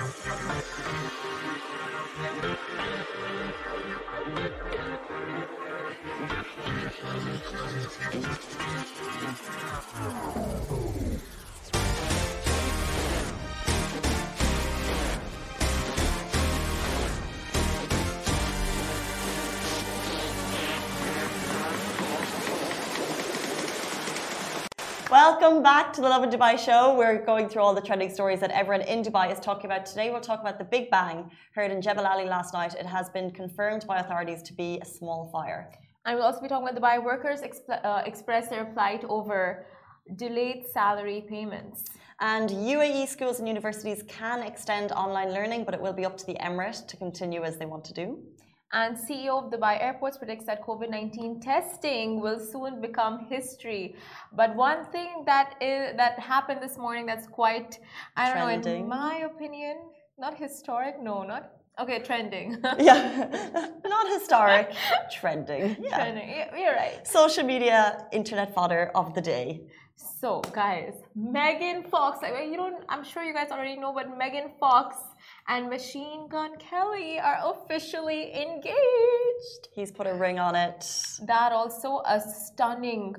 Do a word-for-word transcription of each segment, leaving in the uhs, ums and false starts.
Welcome back to the Lovin Dubai show. We're going through all the trending stories that everyone in Dubai is talking about. Today we'll talk about the Big Bang heard in Jebel Ali last night. It has been confirmed by authorities to be a small fire. And we'll also be talking about Dubai workers exp uh, express their plight over delayed salary payments. And U A E schools and universities can extend online learning, but it will be up to the Emirate to continue as they want to do. And C E O of Dubai Airports predicts that COVID nineteen testing will soon become history. But one thing that is that happened this morning that's quite, I don't trending. know, in my opinion, not historic, no, not, okay, trending. Yeah, not historic, trending. Yeah. Trending, you're right. Social media, internet fodder of the day. So, guys, Megan Fox, like, you don't, I'm sure you guys already know, but Megan Fox and Machine Gun Kelly are officially engaged. He's put a ring on it. That also a stunning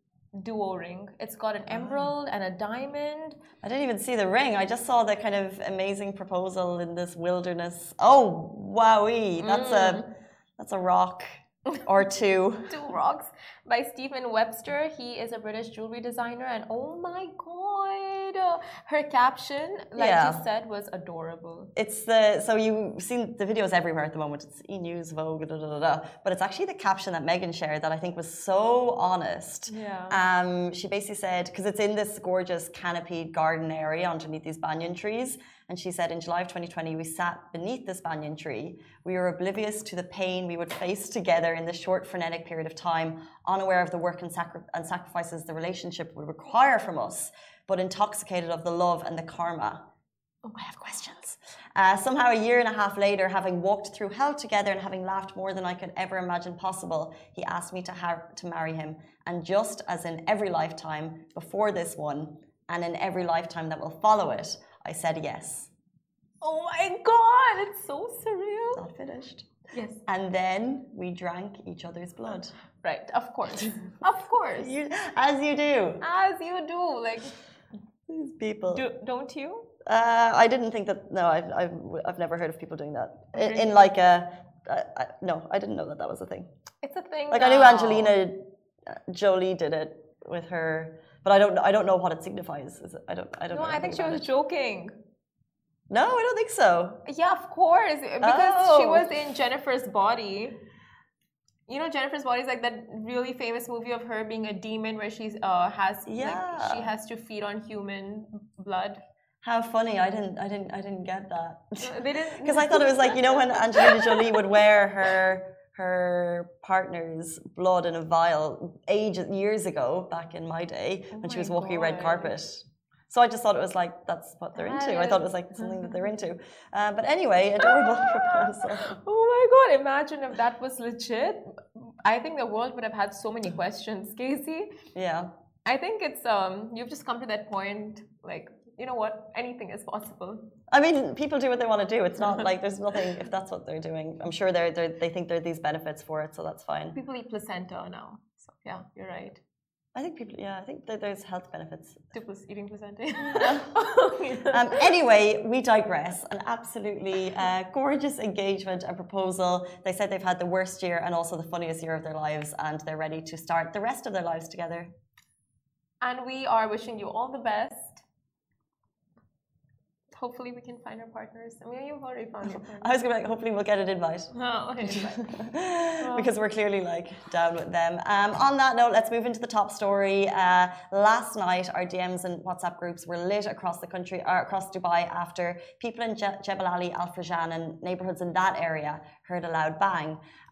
duo ring. It's got an emerald and a diamond. I didn't even see the ring. I just saw the kind of amazing proposal in this wilderness. Oh, wowee. That's mm. a that's a rock or two. Two rocks by Stephen Webster. He is a British jewelry designer, and oh my god, her caption, like yeah. you said, was adorable. It's the so you've seen the videos everywhere at the moment. It's E! News, Vogue, da, da, da, da. But it's actually the caption that Megan shared that I think was so honest. Yeah. Um, she basically said, because it's in this gorgeous canopied garden area underneath these banyan trees, and she said, in July of twenty twenty, we sat beneath this banyan tree. We were oblivious to the pain we would face together in this short frenetic period of time, unaware of the work and, sacri- and sacrifices the relationship would require from us, but intoxicated of the love and the karma. Oh, I have questions. Uh, somehow a year and a half later, having walked through hell together and having laughed more than I could ever imagine possible, he asked me to, ha- to marry him. And just as in every lifetime before this one, and in every lifetime that will follow it, I said yes. Oh my god, it's so surreal. Not finished. Yes. And then we drank each other's blood. Right, of course. Of course. You, as you do. As you do. Like, these people. Do, don't you? Uh, I didn't think that. No, I've, I've, I've never heard of people doing that. In, Really? in like a. I, I, no, I didn't know that that was a thing. It's a thing. Like now. I knew Angelina Jolie did it with her, but I don't. I don't know what it signifies. Is it, I don't. I don't. No, know I think she was it. joking. No, I don't think so. Yeah, of course, because Oh. she was in Jennifer's Body. You know, Jennifer's Body is like that really famous movie of her being a demon, where she's uh has Yeah. like, she has to feed on human blood. How funny! I didn't. I didn't. I didn't get that. They didn't Because I thought it was like, you know, when Angelina Jolie would wear her her partner's blood in a vial ages years ago, back in my day, Oh when she my was walking a red God. carpet. So I just thought it was like, that's what they're into. I thought it was like something that they're into. Uh, but anyway, adorable proposal. Oh my god, imagine if that was legit. I think the world would have had so many questions, Casey. Yeah. I think it's um you've just come to that point, like, you know what, anything is possible. I mean, people do what they want to do. It's not like there's nothing, if that's what they're doing. I'm sure they're, they're, they think there are these benefits for it, so that's fine. People eat placenta now. So yeah, you're right. I think people, yeah, I think that there's health benefits. To plas- eating placenta. um, anyway, we digress. An absolutely uh, gorgeous engagement and proposal. They said they've had the worst year and also the funniest year of their lives, and they're ready to start the rest of their lives together. And we are wishing you all the best. Hopefully we can find our partners. I mean, you've already found your partner. I was going to be like, hopefully we'll get an invite. Oh, okay, invite. Oh. Because we're clearly like down with them. Um, on that note, let's move into the top story. Uh, last night, our D Ms and WhatsApp groups were lit across the country, or across Dubai, after people in Je- Jebel Ali, Al Farjan and neighbourhoods in that area heard a loud bang.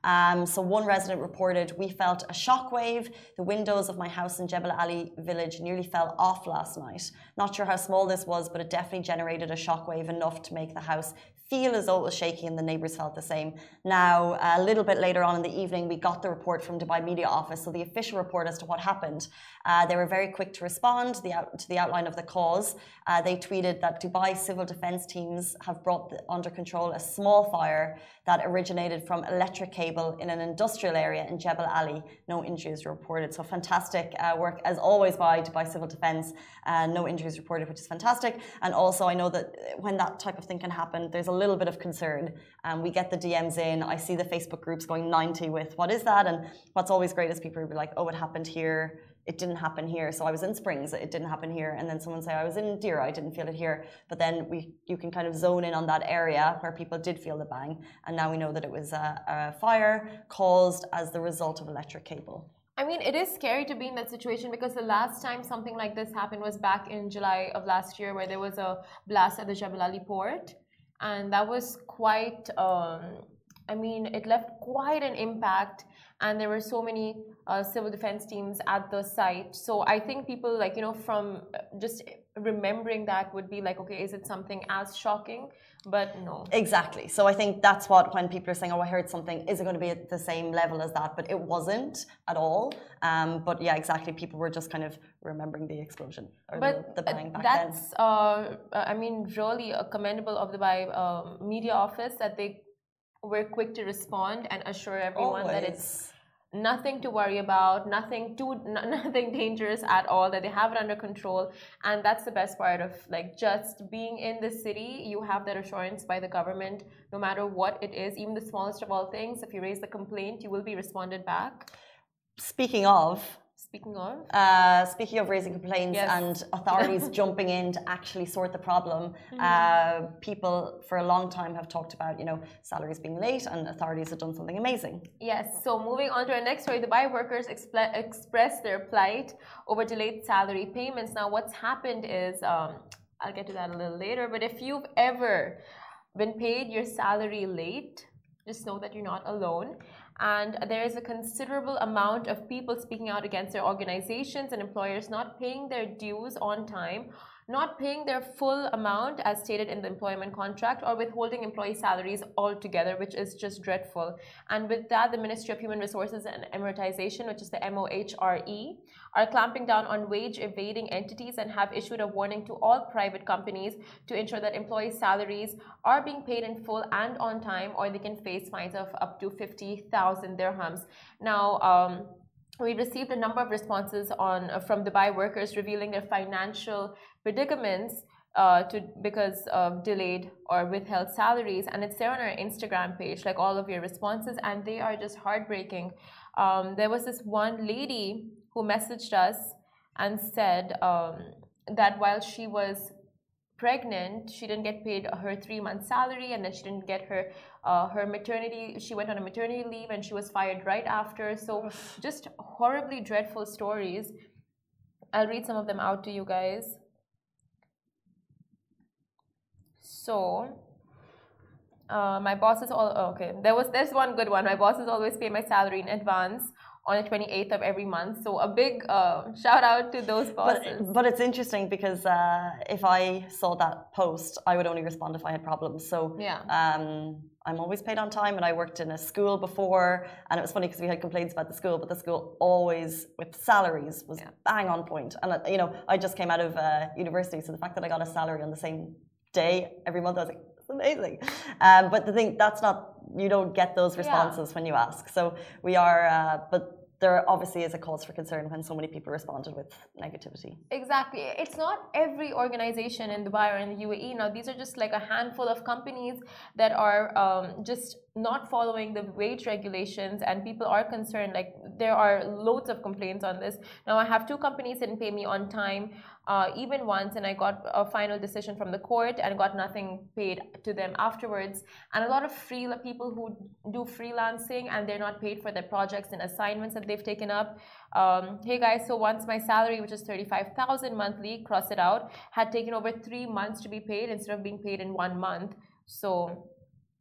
Um, so one resident reported, "We felt a shockwave. The windows of my house in Jebel Ali village nearly fell off last night. Not sure how small this was, but it definitely generated a shockwave enough to make the house feel as though it was shaking, and the neighbours felt the same." Now, a little bit later on in the evening, we got the report from Dubai Media Office, so the official report as to what happened. Uh, they were very quick to respond the out, to the outline of the cause. Uh, they tweeted that Dubai civil defence teams have brought the, under control a small fire that originated from electric cable in an industrial area in Jebel Ali. No injuries reported. So fantastic uh, work, as always, by Dubai Civil Defence. Uh, no injuries reported, which is fantastic. And also, I know that when that type of thing can happen, there's a little bit of concern. Um, we get the D Ms in. I see the Facebook groups going ninety with, what is that? And what's always great is people will be like, oh, it happened here. It didn't happen here. So I was in Springs, it didn't happen here. And then someone say, I was in Deira, I didn't feel it here. But then we, you can kind of zone in on that area where people did feel the bang. And now we know that it was a, a fire caused as the result of electric cable. I mean, it is scary to be in that situation, because the last time something like this happened was back in July of last year, where there was a blast at the Jebel Ali port. And that was quite, um, I mean, it left quite an impact. And there were so many uh, civil defense teams at the site. So I think people, like, you know, from just remembering that would be like, okay, is it something as shocking? But no. Exactly. So I think that's what, when people are saying, oh, I heard something, is it going to be at the same level as that? But it wasn't at all. Um, but yeah, exactly. People were just kind of remembering the explosion or but the, the bang back that's, then. Uh, I mean, really uh, commendable of the Dubai uh, Media Office that they were quick to respond and assure everyone Always. that it's nothing to worry about, nothing too, nothing dangerous at all, that they have it under control. And that's the best part of, like, just being in the city. You have that assurance by the government, no matter what it is, even the smallest of all things. If you raise the complaint, you will be responded back. Speaking of, Speaking of? Uh, speaking of raising complaints yes. and authorities jumping in to actually sort the problem, mm-hmm. uh, people for a long time have talked about, you know, salaries being late, and authorities have done something amazing. Yes, so moving on to our next story, Dubai workers expl- express their plight over delayed salary payments. Now, what's happened is, um, I'll get to that a little later, but if you've ever been paid your salary late, just know that you're not alone. And there is a considerable amount of people speaking out against their organizations and employers not paying their dues on time, not paying their full amount as stated in the employment contract, or withholding employee salaries altogether, which is just dreadful. And with that, the Ministry of Human Resources and Amortization, which is the M O H R E, are clamping down on wage evading entities and have issued a warning to all private companies to ensure that employee salaries are being paid in full and on time, or they can face fines of up to fifty thousand dirhams. Now, um, we received a number of responses on uh, from Dubai workers revealing their financial predicaments uh, to because of delayed or withheld salaries, and it's there on our Instagram page, like all of your responses, and they are just heartbreaking. Um, there was this one lady who messaged us and said um, that while she was pregnant, she didn't get paid her three-month salary, and then she didn't get her uh, her maternity. She went on a maternity leave, and she was fired right after. So just horribly dreadful stories. I'll read some of them out to you guys. So, uh, my bosses all oh, okay. There was there's one good one. My bosses always pay my salary in advance on the twenty-eighth of every month. So a big uh, shout out to those bosses. But, but it's interesting because uh, if I saw that post, I would only respond if I had problems. So yeah. um, I'm always paid on time, and I worked in a school before, and it was funny because we had complaints about the school, but the school always, with salaries, was yeah. bang on point. And, you know, I just came out of uh, university, so the fact that I got a salary on the same day every month, I was like, it's amazing. Um, but the thing, that's not, you don't get those responses yeah. when you ask. So we are, uh, but there obviously is a cause for concern when so many people responded with negativity. Exactly. It's not every organization in Dubai or in the U A E. Now, these are just like a handful of companies that are um, just not following the wage regulations, and people are concerned. Like, there are loads of complaints on this. Now, I have two companies that didn't pay me on time, uh, even once, and I got a final decision from the court and got nothing paid to them afterwards. And a lot of free people who do freelancing, and they're not paid for their projects and assignments that they've taken up. Um, hey guys, so once my salary, which is thirty-five thousand monthly, cross it out, had taken over three months to be paid instead of being paid in one month. So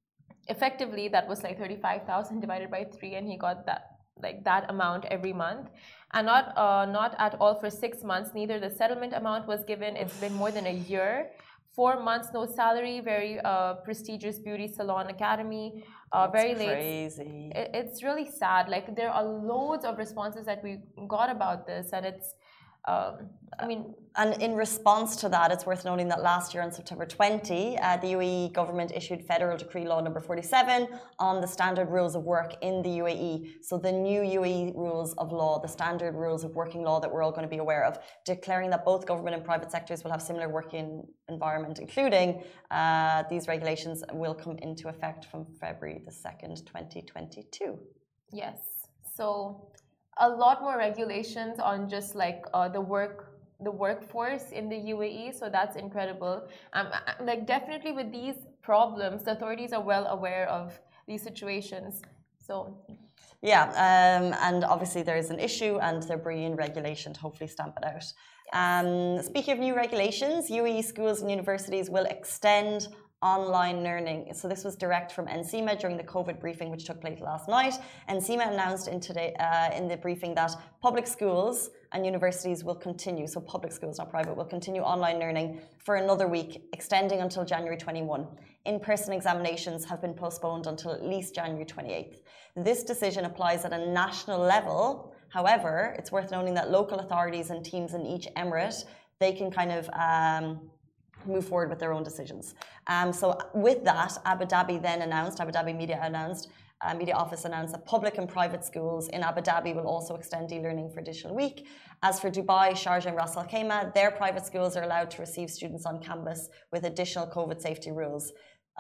effectively, that was like thirty-five thousand divided by three, and he got that like that amount every month, and not uh, not at all for six months. Neither the settlement amount was given. It's been more than a year. Four months, no salary. Very uh, prestigious beauty salon academy. Uh, very late. Crazy. It, it's really sad. Like there are loads of responses that we got about this, and it's. Um, I mean, and in response to that, it's worth noting that last year on September twentieth, uh, the U A E government issued Federal Decree Law number forty-seven on the standard rules of work in the U A E. So the new U A E rules of law, the standard rules of working law that we're all going to be aware of, declaring that both government and private sectors will have similar working environment, including uh, these regulations will come into effect from February the second, twenty twenty-two. Yes. So a lot more regulations on just like uh, the work the workforce in the U A E, so that's incredible. Um, like definitely with these problems, the authorities are well aware of these situations. So yeah, um, and obviously there is an issue, and they're bringing regulation to hopefully stamp it out. Um, speaking of new regulations, U A E schools and universities will extend online learning. So this was direct from NCEMA during the COVID briefing, which took place last night. NCEMA announced in today uh, in the briefing that public schools and universities will continue, so public schools, not private, will continue online learning for another week, extending until January twenty-first. In-person examinations have been postponed until at least January twenty-eighth. This decision applies at a national level. However, it's worth noting that local authorities and teams in each emirate, they can kind of um, move forward with their own decisions. Um, so with that, Abu Dhabi then announced, Abu Dhabi Media announced, uh, Media Office announced that public and private schools in Abu Dhabi will also extend e-learning for additional week. As for Dubai, Sharjah and Ras Al Khaimah, their private schools are allowed to receive students on campus with additional COVID safety rules.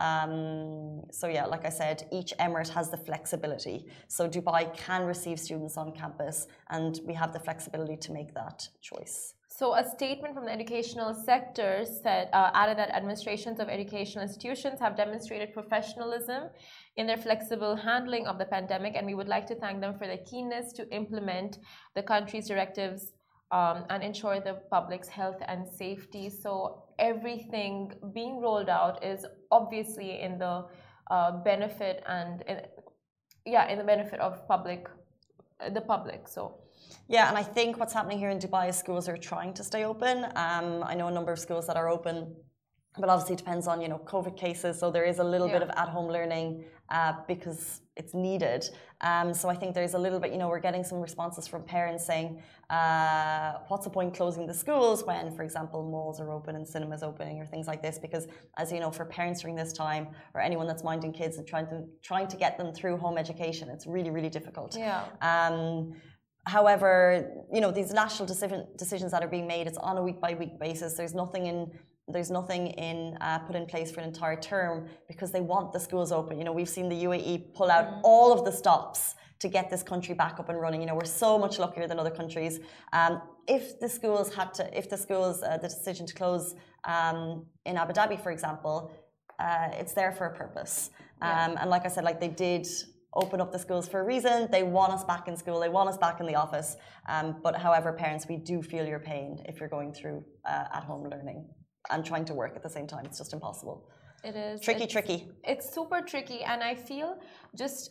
Um, so yeah, like I said, each emirate has the flexibility. So Dubai can receive students on campus, and we have the flexibility to make that choice. So a statement from the educational sector said, uh, added that administrations of educational institutions have demonstrated professionalism in their flexible handling of the pandemic, and we would like to thank them for their keenness to implement the country's directives um, and ensure the public's health and safety. So everything being rolled out is obviously in the uh, benefit and in, yeah, in the benefit of public, the public. So. Yeah, and I think what's happening here in Dubai is schools are trying to stay open. Um, I know a number of schools that are open, but obviously it depends on, you know, COVID cases. So there is a little yeah. bit of at-home learning uh, because it's needed. Um, so I think there's a little bit, you know, we're getting some responses from parents saying, uh, what's the point closing the schools when, for example, malls are open and cinemas opening or things like this? Because as you know, for parents during this time, or anyone that's minding kids and trying to trying to get them through home education, it's really, really difficult. Yeah. Um, However, you know, these national decision, decisions that are being made, it's on a week-by-week basis. There's nothing in there's nothing in uh, put in place for an entire term because they want the schools open. You know, we've seen the U A E pull out mm. all of the stops to get this country back up and running. You know, we're so much luckier than other countries. Um, if the schools had to, if the schools, uh, the decision to close um, in Abu Dhabi, for example, uh, it's there for a purpose. Um, yeah. And like I said, like they did open up the schools for a reason. They want us back in school. They want us back in the office. Um, but however, parents, we do feel your pain if you're going through uh, at-home learning and trying to work at the same time. It's just impossible. It is. Tricky, it's, tricky. It's super tricky. And I feel just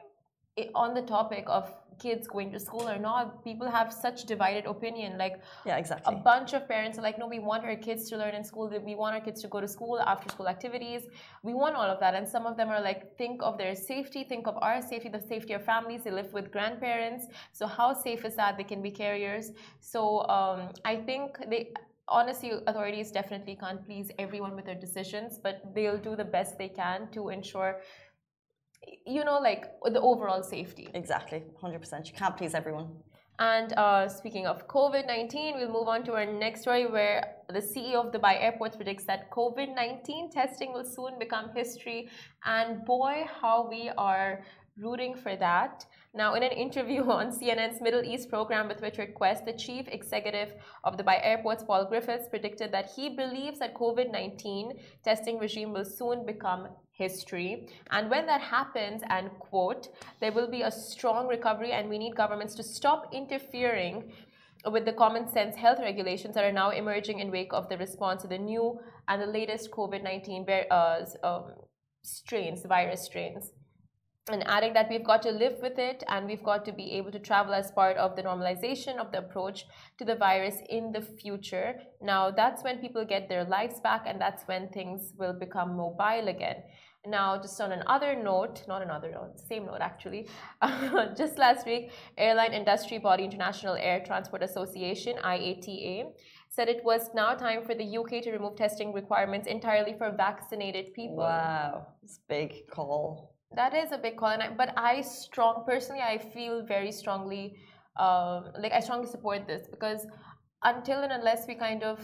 on the topic of kids going to school or not, people have such divided opinion. Like, yeah, exactly. A bunch of parents are like, no, we want our kids to learn in school. We want our kids to go to school, after school activities. We want all of that. And some of them are like, think of their safety, think of our safety, the safety of families. They live with grandparents. So how safe is that? They can be carriers. So um, I think they, honestly, authorities definitely can't please everyone with their decisions, but they'll do the best they can to ensure, you know, like the overall safety. Exactly, one hundred percent. You can't please everyone. And uh, speaking of COVID nineteen, we'll move on to our next story where the C E O of Dubai Airports predicts that COVID nineteen testing will soon become history. And boy, how we are rooting for that. Now, in an interview on C N N's Middle East program with Richard Quest, the chief executive of Dubai Airports, Paul Griffiths, predicted that he believes that COVID nineteen testing regime will soon become history. And when that happens, and quote, there will be a strong recovery and we need governments to stop interfering with the common sense health regulations that are now emerging in wake of the response to the new and the latest COVID nineteen uh, um, strains, virus strains. And adding that we've got to live with it and we've got to be able to travel as part of the normalization of the approach to the virus in the future. Now, that's when people get their lives back and that's when things will become mobile again. Now, just on another note, not another note, same note actually, just last week, airline industry body International Air Transport Association, I A T A, said it was now time for the U K to remove testing requirements entirely for vaccinated people. Wow, it's a big call. That is a big call, and I, but I strong personally, I feel very strongly, um, like I strongly support this because until and unless we kind of,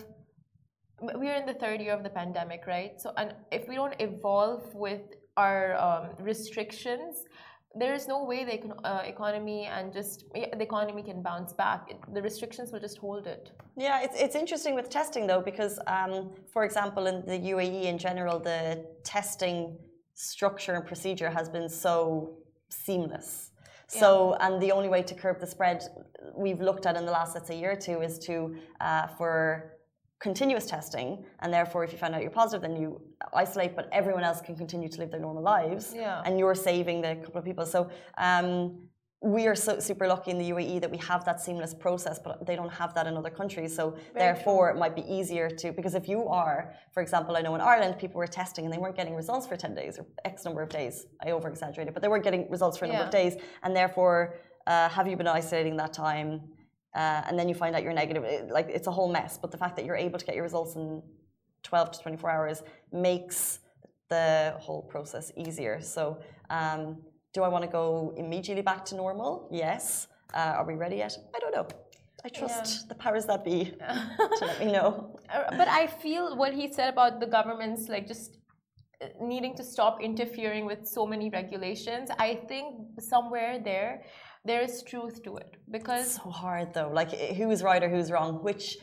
we're in the third year of the pandemic, right? So, and if we don't evolve with our um, restrictions, there is no way the uh, economy and just the economy can bounce back. It, the restrictions will just hold it. Yeah, it's it's interesting with testing though because, um, for example, in the U A E in general, the testing structure and procedure has been so seamless. So, yeah. And the only way to curb the spread we've looked at in the last, let's say, year or two is to, uh, for continuous testing, and therefore if you find out you're positive, then you isolate, but everyone else can continue to live their normal lives, yeah. And you're saving the couple of people. So, um, we are so super lucky in the U A E that we have that seamless process, but they don't have that in other countries. So Very therefore, true. It might be easier to, because if you are, for example, I know in Ireland, people were testing and they weren't getting results for ten days or X number of days. I over-exaggerated, but they weren't getting results for a number yeah. of days. And therefore, uh, have you been isolating that time? Uh, and then you find out you're negative. It, like, it's a whole mess. But the fact that you're able to get your results in twelve to twenty-four hours makes the whole process easier. So, um, do I want to go immediately back to normal? Yes. Uh, are we ready yet? I don't know. I trust yeah. the powers that be to let me know. But I feel what he said about the governments, like just needing to stop interfering with so many regulations, I think somewhere there, there is truth to it. Because it's so hard though. Like, who's right or who's wrong? Which,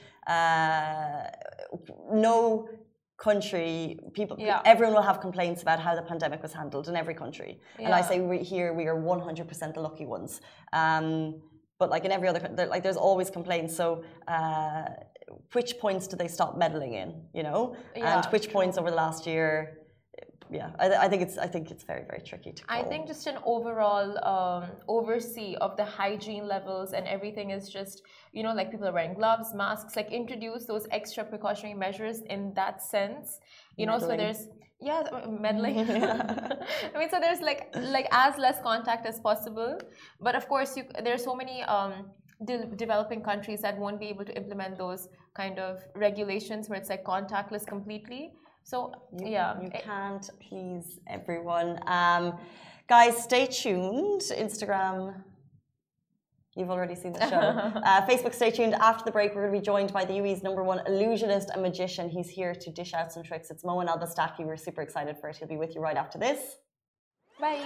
uh, no country, people, yeah. everyone will have complaints about how the pandemic was handled in every country. Yeah. And I say we, here we are one hundred percent the lucky ones. Um, but like in every other country, like there's always complaints. So uh, which points do they stop meddling in, you know? Yeah, and which true. Points over the last year, yeah, I, I think it's I think it's very, very tricky to call. I think just an overall um, oversee of the hygiene levels and everything is just, you know, like people are wearing gloves, masks, like introduce those extra precautionary measures in that sense, you know, meddling. So there's, yeah, meddling. Yeah. I mean, so there's like, like as less contact as possible. But of course, you, there are so many um, de developing countries that won't be able to implement those kind of regulations where it's like contactless completely. So, you, yeah. You can't please everyone. Um, guys, stay tuned. Instagram, you've already seen the show. uh, Facebook, stay tuned. After the break, we're going to be joined by the U A E's number one illusionist and magician. He's here to dish out some tricks. It's Moen Elbastaki. We're super excited for it. He'll be with you right after this. Bye.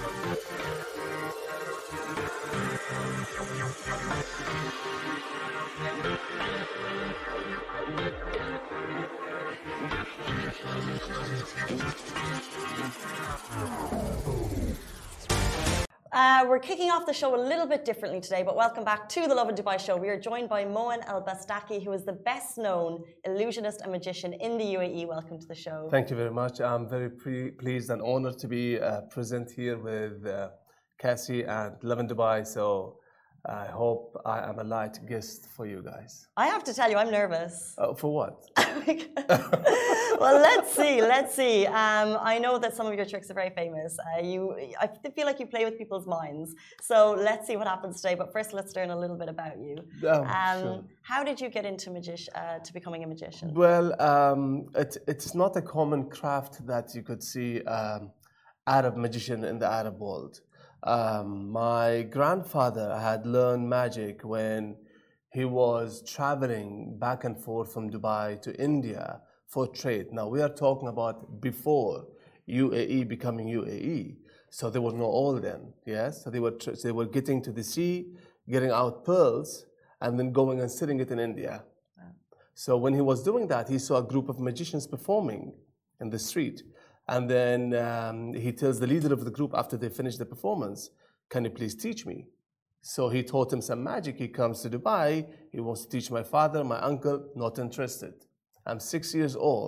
Uh, we're kicking off the show a little bit differently today, but welcome back to the Lovin Dubai show. We are joined by Moen Elbastaki, who is the best known illusionist and magician in the U A E. Welcome to the show. Thank you very much. I'm very pre pleased and honored to be uh, present here with uh, Cassie and Lovin Dubai. So I hope I am a light guest for you guys. I have to tell you, I'm nervous. Uh, for what? Well, let's see. Let's see. Um, I know that some of your tricks are very famous. Uh, you, I feel like you play with people's minds. So let's see what happens today. But first, let's learn a little bit about you. Oh, um, sure. How did you get into magic, uh, to becoming a magician? Well, um, it, it's not a common craft that you could see um, Arab magician in the Arab world. Um, my grandfather had learned magic when he was traveling back and forth from Dubai to India for trade. Now, we are talking about before U A E becoming U A E. So there was no oil then, yes? So they were, so they were getting to the sea, getting out pearls, and then going and selling it in India. Wow. So when he was doing that, he saw a group of magicians performing in the street. And then um, he tells the leader of the group after they finish the performance, can you please teach me? So he taught him some magic. He comes to Dubai. He wants to teach my father, my uncle, not interested. I'm six years old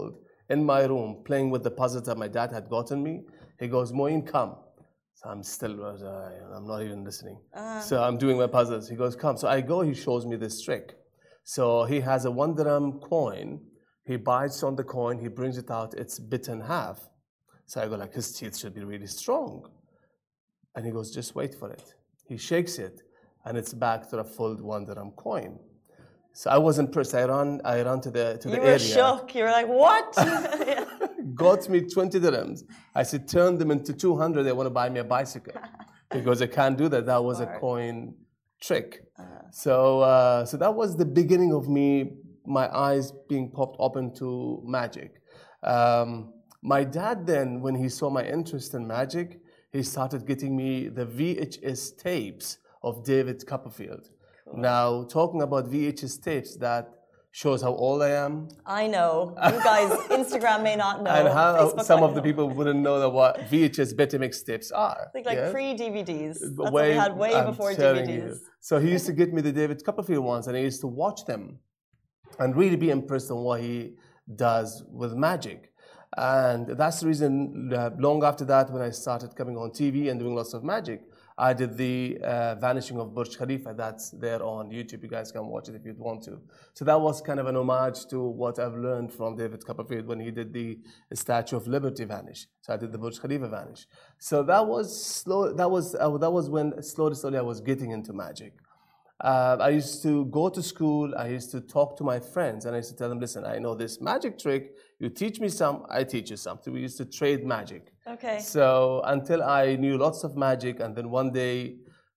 in my room playing with the puzzles that my dad had gotten me. He goes, Moeen, come. So I'm still, uh, I'm not even listening. Uh. So I'm doing my puzzles. He goes, come. So I go, he shows me this trick. So he has a one dirham coin. He bites on the coin, he brings it out, it's bit in half. So I go like, his teeth should be really strong. And he goes, just wait for it. He shakes it, and it's back to a full one dirham coin. So I was impressed. I ran, I ran to the to the area. You were shocked. You were like, what? Got me twenty dirhams. I said, turn them into two hundred. They want to buy me a bicycle. He goes, I can't do that. That was Smart. a coin trick. Uh, so, uh, so that was the beginning of me, my eyes being popped open to magic. Um, my dad then, when he saw my interest in magic, he started getting me the V H S tapes of David Copperfield. Cool. Now, talking about V H S tapes, that shows how old I am. I know. You guys, Instagram may not know. And how Facebook some of the know. people wouldn't know that what V H S Betamax tapes are. I think like yeah? pre-D V Ds. That's way, what we had way I'm before D V Ds. You. So he used to get me the David Copperfield ones, and I used to watch them and really be impressed on what he does with magic. And that's the reason, uh, long after that, when I started coming on T V and doing lots of magic, I did the uh, vanishing of Burj Khalifa. That's there on YouTube. You guys can watch it if you'd want to. So that was kind of an homage to what I've learned from David Copperfield when he did the Statue of Liberty vanish. So I did the Burj Khalifa vanish. So that was slow. That was uh, that was when slowly, slowly I was getting into magic. Uh, I used to go to school, I used to talk to my friends, and I used to tell them, listen, I know this magic trick, you teach me some, I teach you something. We used to trade magic. Okay. So until I knew lots of magic, and then one day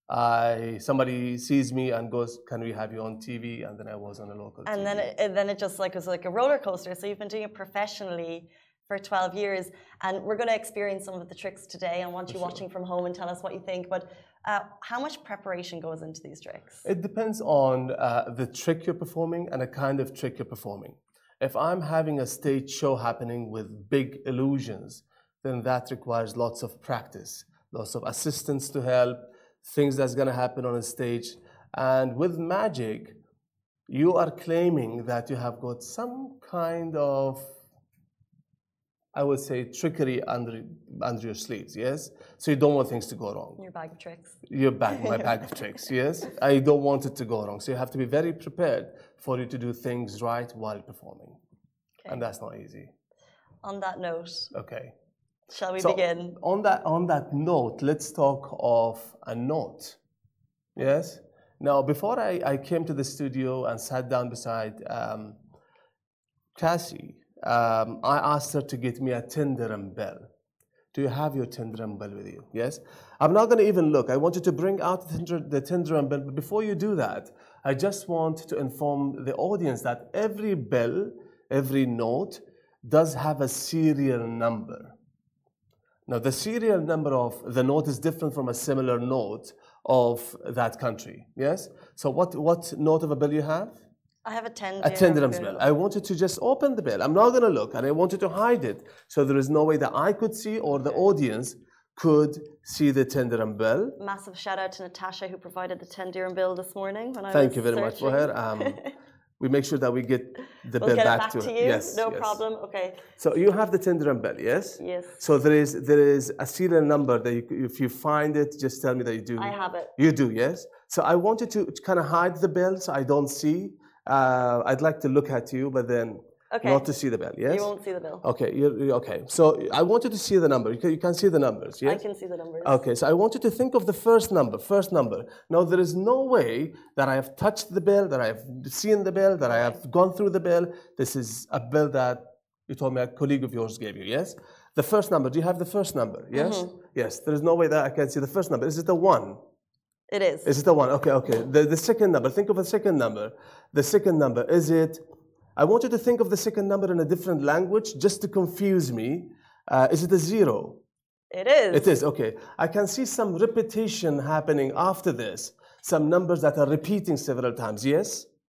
I somebody sees me and goes, can we have you on T V? And then I was on a local and T V. then it, and then it just like was like a roller coaster. So you've been doing it professionally for twelve years, and we're going to experience some of the tricks today. I want you sure. watching from home and tell us what you think. But uh, how much preparation goes into these tricks? It depends on uh, the trick you're performing and the kind of trick you're performing. If I'm having a stage show happening with big illusions, then that requires lots of practice, lots of assistance to help, things that's going to happen on a stage. And with magic, you are claiming that you have got some kind of, I would say, trickery under under your sleeves, yes? So you don't want things to go wrong. Your bag of tricks. Your bag, my bag of tricks, yes? I don't want it to go wrong. So you have to be very prepared for you to do things right while performing. Okay. And that's not easy. On that note. Okay. Shall we so begin? On that, on that note, let's talk of a note, yes? Now, before I, I came to the studio and sat down beside um, Cassie, Um, I asked her to get me a ten dirham bell. Do you have your ten dirham bell with you? Yes? I'm not going to even look. I want you to bring out the ten dirham bell. But before you do that, I just want to inform the audience that every bell, every note, does have a serial number. Now, the serial number of the note is different from a similar note of that country. Yes? So what, what note of a bell you have? I have a ten A ten dirhams bell. I want you to just open the bell. I'm not going to look, and I want you to hide it. So there is no way that I could see or the audience could see the ten dirham bell. Massive shout out to Natasha, who provided the ten dirham bill this morning when I Thank was you very searching. much for her. Um, we make sure that we get the we'll bell get back, it back to, to her. you. Yes, no yes. problem. Okay. So you have the ten dirham bell, yes? Yes. So there is there is a serial number that you, if you find it, just tell me that you do. I have it. You do, yes. So I want you to kind of hide the bell so I don't see. Uh, I'd like to look at you, but then okay. not to see the bell, yes? You won't see the bill. Okay, you're, you're, okay. So I want you to see the number. You can, you can see the numbers, yes? I can see the numbers. Okay, so I want you to think of the first number, first number. Now, there is no way that I have touched the bill, that I have seen the bill, that I have gone through the bill. This is a bill that you told me a colleague of yours gave you, yes? The first number, do you have the first number, yes? Mm-hmm. Yes, there is no way that I can see the first number. Is it a one? It is. Is it the one? Okay, okay. The, the second number, think of a second number. The second number, is it, I want you to think of the second number in a different language just to confuse me. Uh, is it a zero? It is. It is, okay. I can see some repetition happening after this. Some numbers that are repeating several times, yes?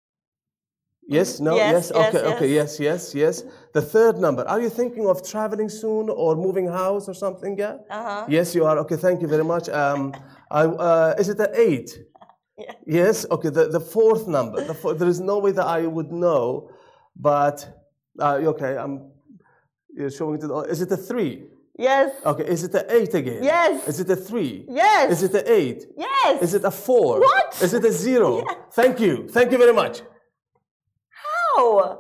Yes, no, yes, yes, okay, yes, okay, yes, yes, yes. The third number, are you thinking of traveling soon or moving house or something, yeah? Uh-huh. Yes, you are, okay, thank you very much. Um, I, uh, is it an eight? Yeah. Yes, okay, the, the fourth number. The four, there is no way that I would know, but, uh, okay, I'm, You're showing it to the. Is it a three? Yes. Okay. Is it a eight again? Yes. Is it a three? Yes. Is it a eight? Yes. Is it a four? What? Is it a zero? Yes. Thank you. Thank you very much. How?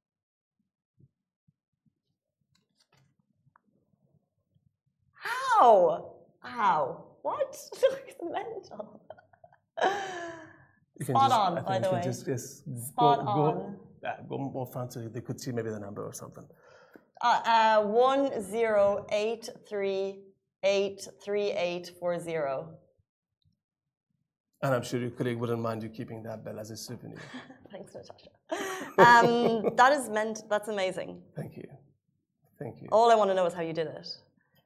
How? How? What? It's mental. You can Spot just, on, I think by you the can way. Just, just Spot go, on. Go, yeah, go more front so they could see maybe the number or something. Uh, uh, one zero eight three eight three eight four zero. And I'm sure your colleague wouldn't mind you keeping that bell as a souvenir. Thanks, Natasha. Um, that is meant. That's amazing. Thank you. Thank you. All I want to know is how you did it.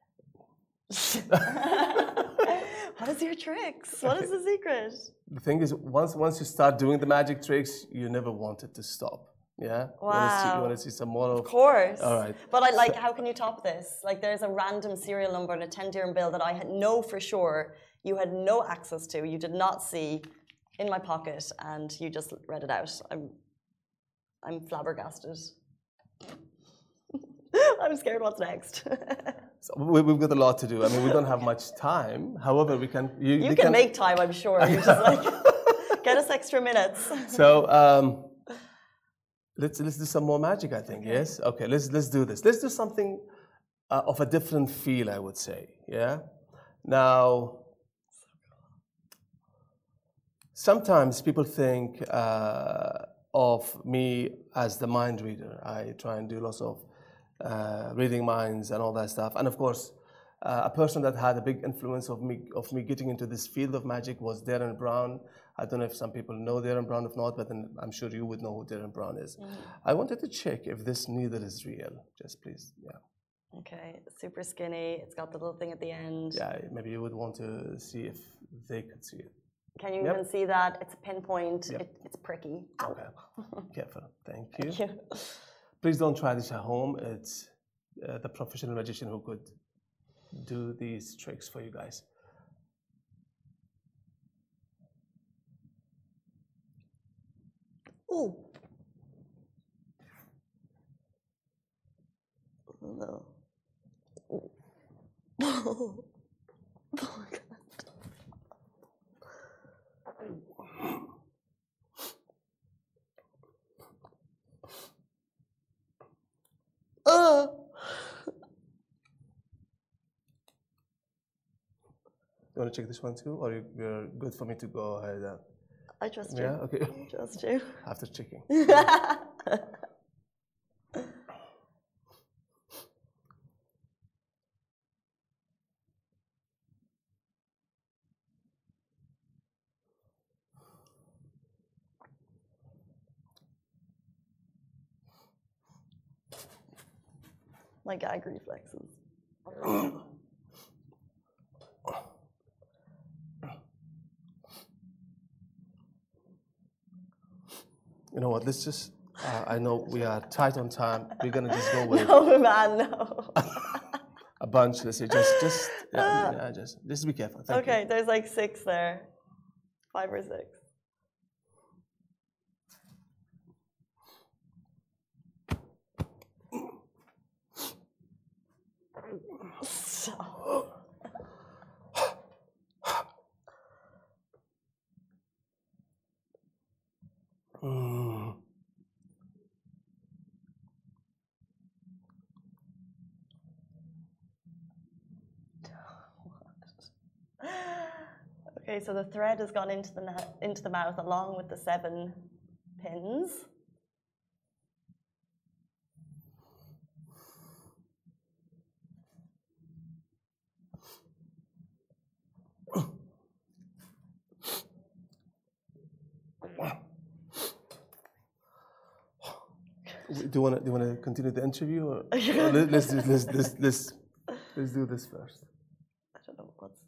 What is your tricks? What is the secret? The thing is, once once you start doing the magic tricks, you never want it to stop. Yeah. Wow. You want to see, you want to see some more of. Of course. All right. But I like. How can you top this? Like, there's a random serial number and a ten dirham bill that I had know for sure you had no access to. You did not see in my pocket, and you just read it out. I'm, I'm flabbergasted. I'm scared. What's next? So we, we've got a lot to do. I mean, we don't have much time. However, we can. You, You they can make time, I'm sure. You just like get us extra minutes. So um, let's let's do some more magic. I think. Yes. Okay. Let's let's do this. Let's do something uh, of a different feel. I would say. Yeah. Now, sometimes people think uh, of me as the mind reader. I try and do lots of uh, reading minds and all that stuff. And of course, uh, a person that had a big influence of me of me getting into this field of magic was Darren Brown. I don't know if some people know Darren Brown, if not, but then I'm sure you would know who Darren Brown is. Mm-hmm. I wanted to check if this needle is real. Just please, yeah. Okay, super skinny. It's got the little thing at the end. Yeah, maybe you would want to see if they could see it. Can you Yep. even see that? It's a pinpoint. Yep. It, it's pricky. Okay, careful. Thank you. Thank you. Please don't try this at home. It's uh, the professional magician who could do these tricks for you guys. Ooh. No. Oh. Oh, God. Uh. You want to check this one too, or you, you're good for me to go ahead? And, I trust you. yeah. Okay. I trust you. After checking. My gag reflexes. You know what? Let's just. Uh, I know we are tight on time. We're gonna just go with No, man, no. a bunch. Let's say just, just, yeah, yeah, just, just be careful. Thank Okay, you. there's like six there. Five or six. So. Mm. Okay, so the thread has gone into the into the mouth along with the seven pins. Do you want to do you want to continue the interview, or, or let, let's do let's, let's let's let's do this first. I don't know what's.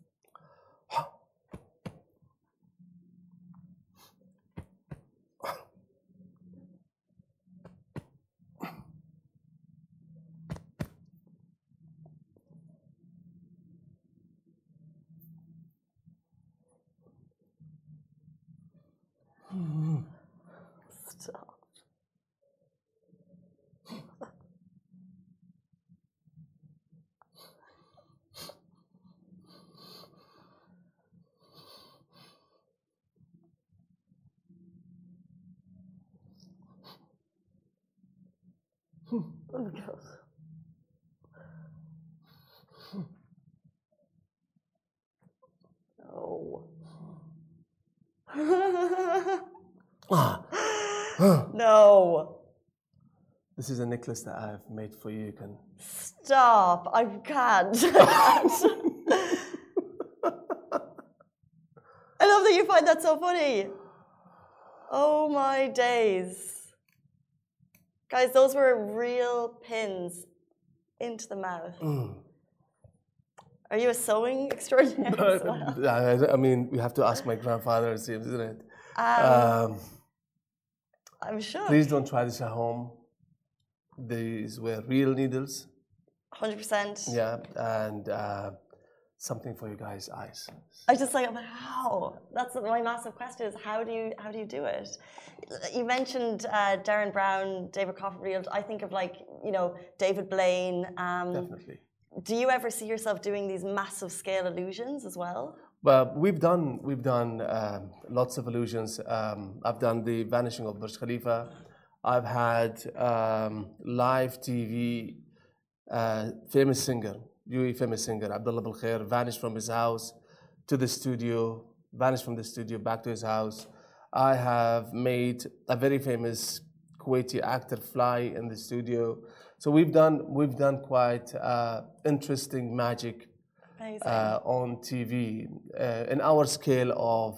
Stop. Oh my God. No. No. This is a necklace that I've made for you. You can stop. I can't. I can't. I love that you find that so funny. Oh my days. Guys, those were real pins into the mouth. Mm. Are you a sewing extraordinaire as well? I mean, we have to ask my grandfather, it seems, isn't it? Um, um, I'm sure. Please don't try this at home. These were real needles. one hundred percent. Yeah, and uh, something for you guys' eyes. I just like, how? That's my massive question: is how do you how do you do it? You mentioned uh, Derren Brown, David Copperfield. I think of like you know David Blaine. Um, Definitely. Do you ever see yourself doing these massive scale illusions as well? Well, we've done we've done um, lots of illusions. Um, I've done the vanishing of Burj Khalifa. I've had um, live T V uh, famous singer, U A E famous singer Abdullah Bil Khair vanished from his house to the studio, vanished from the studio back to his house. I have made a very famous Kuwaiti actor fly in the studio. So we've done we've done quite uh, interesting magic uh, on T V uh, in our scale of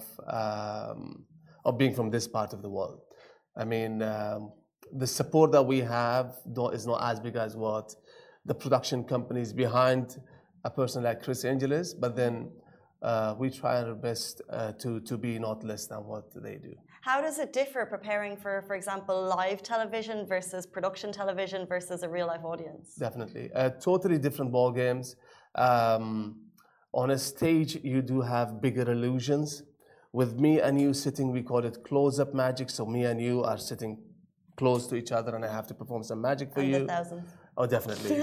um, of being from this part of the world. I mean, um, the support that we have is not as big as what the production companies behind a person like Criss Angel is, but then uh, we try our best uh, to to be not less than what they do. How does it differ preparing for, for example, live television versus production television versus a real life audience? Definitely. Uh, totally different ball games. Um, on a stage, you do have bigger illusions. With me and you sitting, we call it close-up magic. So me and you are sitting close to each other and I have to perform some magic for and you. The thousands. Oh, definitely.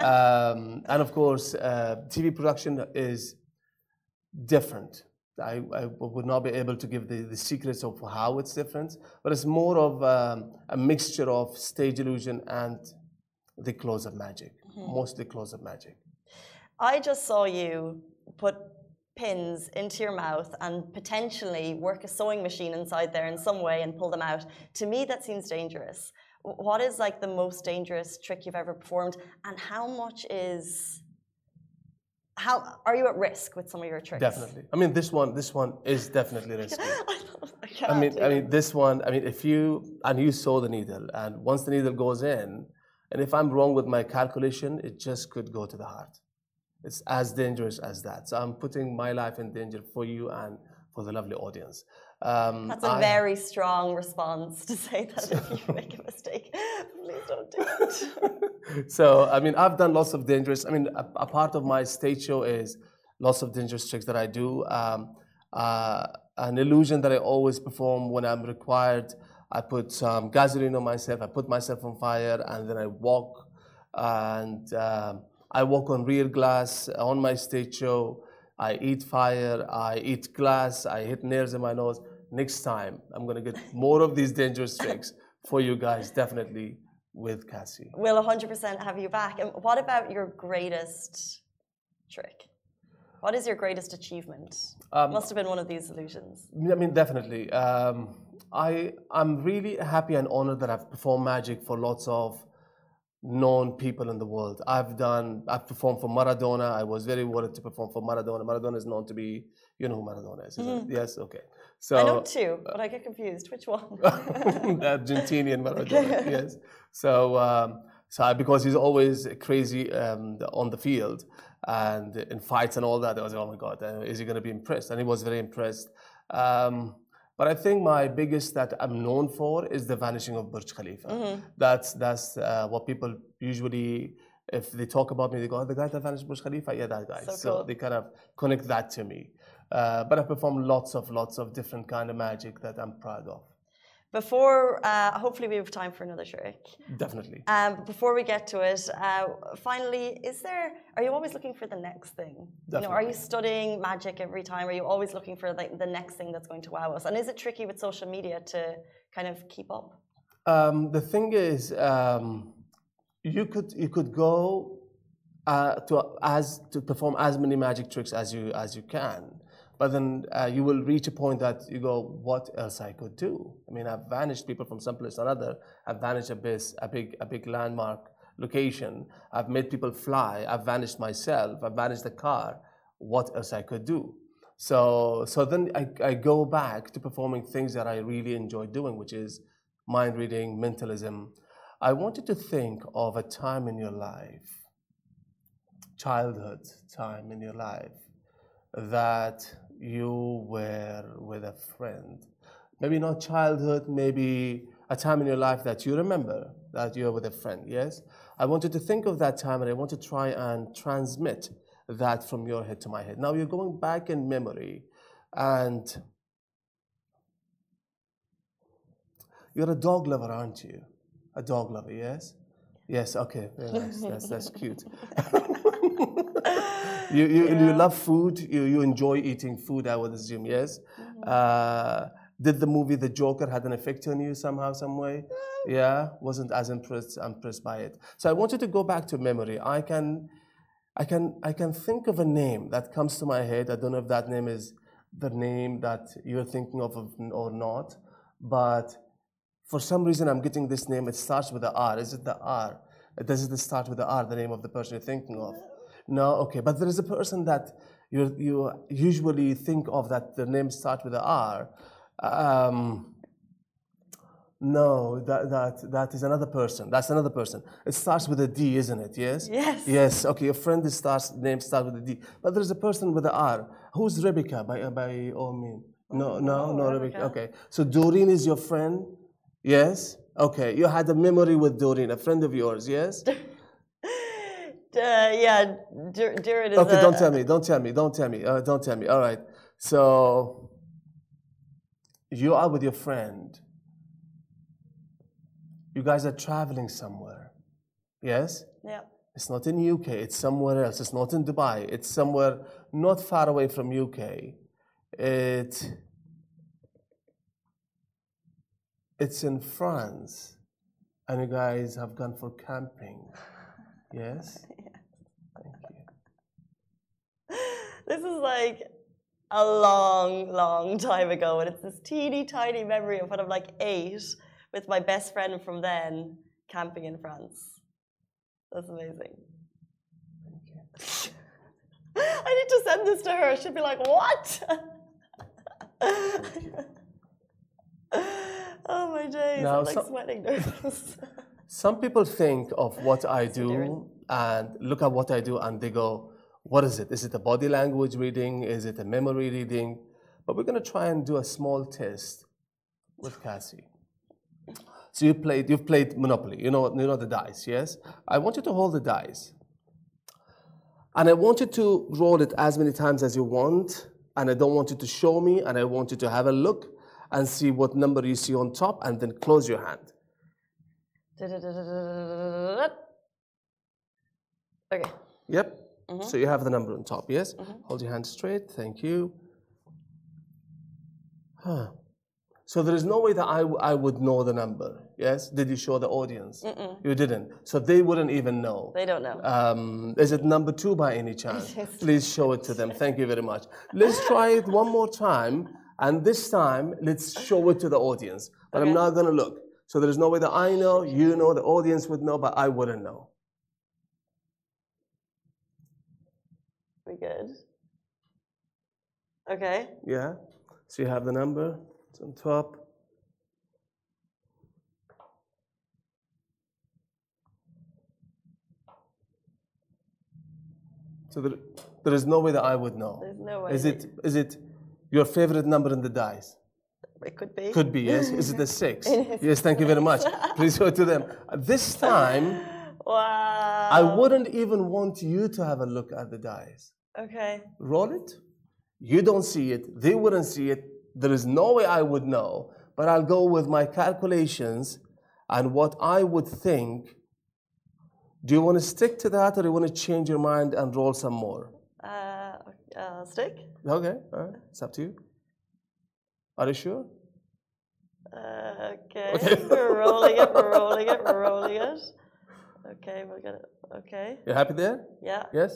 um, and of course, uh, T V production is different. I, I would not be able to give the, the secrets of how it's different, but it's more of um, a mixture of stage illusion and the close-up magic, mm-hmm. mostly close-up magic. I just saw you put pins into your mouth and potentially work a sewing machine inside there in some way and pull them out. To me, that seems dangerous. What is like the most dangerous trick you've ever performed, and how much is... How are you at risk with some of your tricks? Definitely. I mean, this one, this one is definitely risky. I, I mean, I mean, this one. I mean, if you and you sew the needle, and once the needle goes in, and if I'm wrong with my calculation, it just could go to the heart. It's as dangerous as that. So I'm putting my life in danger for you and for the lovely audience. Um, That's a I, very strong response to say that if you make a mistake, please don't do it. So, I mean, I've done lots of dangerous, I mean, a, a part of my stage show is lots of dangerous tricks that I do. Um, uh, an illusion that I always perform when I'm required, I put some gasoline on myself, I put myself on fire, and then I walk, and um, I walk on real glass on my stage show. I eat fire, I eat glass, I hit nails in my nose. Next time, I'm going to get more of these dangerous tricks for you guys, definitely, with Cassie. We'll one hundred percent have you back. And what about your greatest trick? What is your greatest achievement? Um, Must have been one of these illusions. I mean, definitely. Um, I, I'm really happy and honored that I've performed magic for lots of known people in the world. I've done, I've performed for Maradona. I was very worried to perform for Maradona. Maradona is known to be, you know who Maradona is, isn't mm. it? Yes, okay. So I know two, but I get confused. Which one? Argentinian Maradona, yes. So, um, so I, because he's always crazy um, on the field and in fights and all that, I was like, oh my God, is he going to be impressed? And he was very impressed. Um, But I think my biggest that I'm known for is the vanishing of Burj Khalifa. Mm-hmm. That's that's uh, what people usually, if they talk about me, they go, oh, the guy that vanished Burj Khalifa, yeah, that guy. So, so cool. They kind of connect that to me. Uh, but I perform lots of, lots of different kind of magic that I'm proud of. Before, uh, hopefully we have time for another trick. Definitely. Um, before we get to it, uh, finally, is there, are you always looking for the next thing? Definitely. You know, are you studying magic every time? Are you always looking for like the next thing that's going to wow us? And is it tricky with social media to kind of keep up? Um, the thing is, um, you could you could go uh, to as to perform as many magic tricks as you as you can, but then uh, you will reach a point that you go, what else I could do? I mean, I've vanished people from some place or another. I've vanished a big a big a big landmark location. I've made people fly. I've vanished myself. I've vanished the car. What else I could do? So so then I, I go back to performing things that I really enjoy doing, which is mind reading, mentalism. I want you to think of a time in your life, childhood time in your life, that you were with a friend. Maybe not childhood, maybe a time in your life that you remember that you're with a friend, yes? I want you to think of that time, and I want to try and transmit that from your head to my head. Now you're going back in memory, and you're a dog lover, aren't you? A dog lover, yes? Yes, okay, very nice. That's, that's cute. you you, yeah. you love food, you, you enjoy eating food, I would assume, yes? Mm-hmm. uh, did the movie The Joker had an effect on you somehow, some way? Yeah, wasn't as impressed impressed by it. So I want you to go back to memory. I can, I can, I can think of a name that comes to my head. I don't know if that name is the name that you're thinking of or not, but for some reason I'm getting this name. It starts with the R. Is it the R? Does it start with the R, the name of the person you're thinking of? No, okay. But there is a person that you you usually think of that the name starts with the R. Um, no, that, that, that is another person. That's another person. It starts with a D, isn't it? Yes? Yes. Yes, okay. Your friend is starts, name starts with a D. But there's a person with the R. Who's Rebecca, by, by all means? No, no, no, Rebecca. Okay. So Doreen is your friend? Yes? Okay. You had a memory with Doreen, a friend of yours, yes? Uh, yeah, Durin is Okay, a, don't tell me, don't tell me, don't tell me, uh, don't tell me. All right. So you are with your friend. You guys are traveling somewhere. Yes? Yeah. It's not in U K, it's somewhere else. It's not in Dubai. It's somewhere not far away from U K. It, it's in France. And you guys have gone for camping. Yes? Yes. Thank you. This is like a long, long time ago, and it's this teeny tiny memory of when I'm like eight with my best friend from then camping in France. That's amazing. Thank you. I need to send this to her. She'd be like, what? Oh my days, Now, I'm like some, sweating nervous. Some people think of what I do and look at what I do and they go, what is it? Is it a body language reading? Is it a memory reading? But we're going to try and do a small test with Cassie. So you played, you've played Monopoly. You know, you know the dice, yes? I want you to hold the dice. And I want you to roll it as many times as you want. And I don't want you to show me. And I want you to have a look and see what number you see on top and then close your hand. Okay. Yep. Mm-hmm. So you have the number on top, yes? Mm-hmm. Hold your hand straight. Thank you. Huh. So there is no way that I, w I would know the number, yes? Did you show the audience? Mm-mm. You didn't. So they wouldn't even know. They don't know. Um, is it number two by any chance? Please show it to them. Thank you very much. Let's try it one more time. And this time, let's show it to the audience. But okay. I'm not going to look. So there's no way that I know, you know, the audience would know, but I wouldn't know. We good? Okay. Yeah. So you have the number. It's on top. So there, there is no way that I would know. There's no way. Is it, is it your favorite number in the dice? It could be. Could be, yes. Is it a six? Yes, thank you very much. Please show it to them. This time, wow. I wouldn't even want you to have a look at the dice. Okay. Roll it. You don't see it. They wouldn't see it. There is no way I would know. But I'll go with my calculations and what I would think. Do you want to stick to that or do you want to change your mind and roll some more? Uh, uh, stick. Okay, all right. It's up to you. Are you sure? Uh, okay. okay. We're rolling it, we're rolling it, we're rolling it. Okay, we'll get it. Okay. You happy there? Yeah. Yes?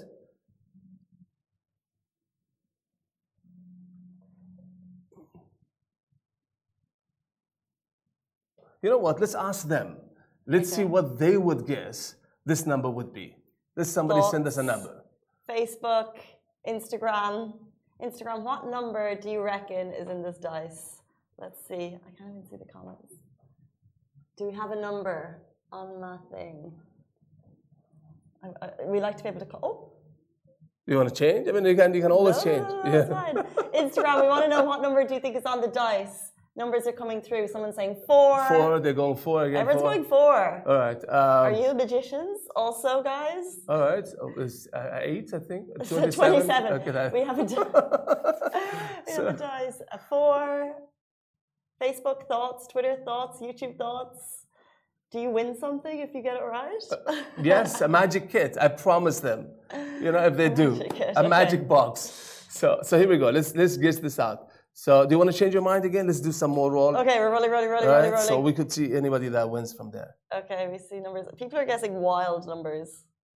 You know what? Let's ask them. Let's Okay. see what they would guess this number would be. Let's somebody send us a Thoughts? number. Facebook, Instagram. Instagram, what number do you reckon is in this dice? Let's see. I can't even see the comments. Do we have a number on that thing? I, I, we like to be able to call. Oh. You want to change? I mean, you can, you can always No, change. no, no, that's fine. Instagram, we want to know what number do you think is on the dice? Numbers are coming through. Someone's saying four. Four, they're going four again. Everyone's four. going four. All right. Um, Are you magicians also, guys? All right. So it's uh, eight, I think. twenty-seven. twenty-seven. Okay, that- We have a di- we have a dice. A four. Facebook thoughts, Twitter thoughts, YouTube thoughts. Do you win something if you get it right? Yes, a magic kit. I promise them. You know, if they do, Magic kit, a okay. magic box. So, so here we go. Let's let's get this out. So, do you want to change your mind again? Let's do some more roll. Okay, we're rolling, rolling, rolling, All rolling, right. rolling. So we could see anybody that wins from there. Okay, we see numbers. People are guessing wild numbers.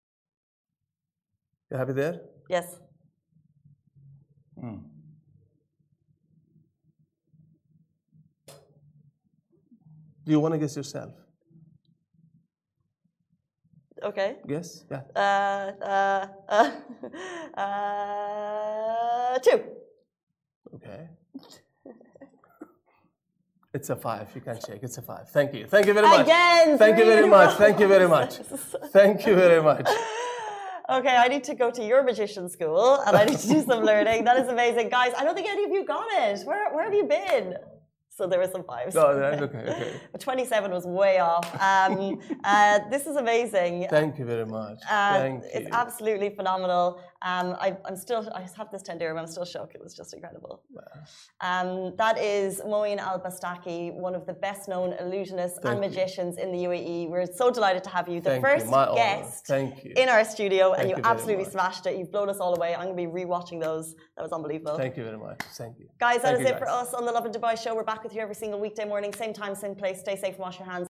You happy there? Yes. Hmm. Do you want to guess yourself? Okay. Yes. Yeah. Uh, uh, uh, uh, two. Okay. It's a five. You can check. It's a five. Thank you. Thank you very much. Again. Thank you three very in a much. row. Thank you very much. Thank you very much. Okay, I need to go to your magician school and I need to do some learning. That is amazing. Guys, I don't think any of you got it. Where, where have you been? So there were some fives. No, that's okay. Okay. But twenty-seven was way off. Um, uh, this is amazing. Thank you very much. Uh, Thank it's you. absolutely phenomenal. Um, I, I'm still, I have this ten dirham. I'm still shocked. It was just incredible. Um, that is Moeen Al Bastaki, one of the best known illusionists Thank and you. magicians in the U A E. We're so delighted to have you, the Thank first you. My honor. guest Thank you. in our studio, Thank and you you very absolutely much. smashed it. You've blown us all away. I'm going to be rewatching those. That was unbelievable. Thank you very much. Thank you. Guys, that Thank is you, it for guys. us on the Love in Dubai show. We're back with you every single weekday morning, same time, same place. Stay safe and wash your hands.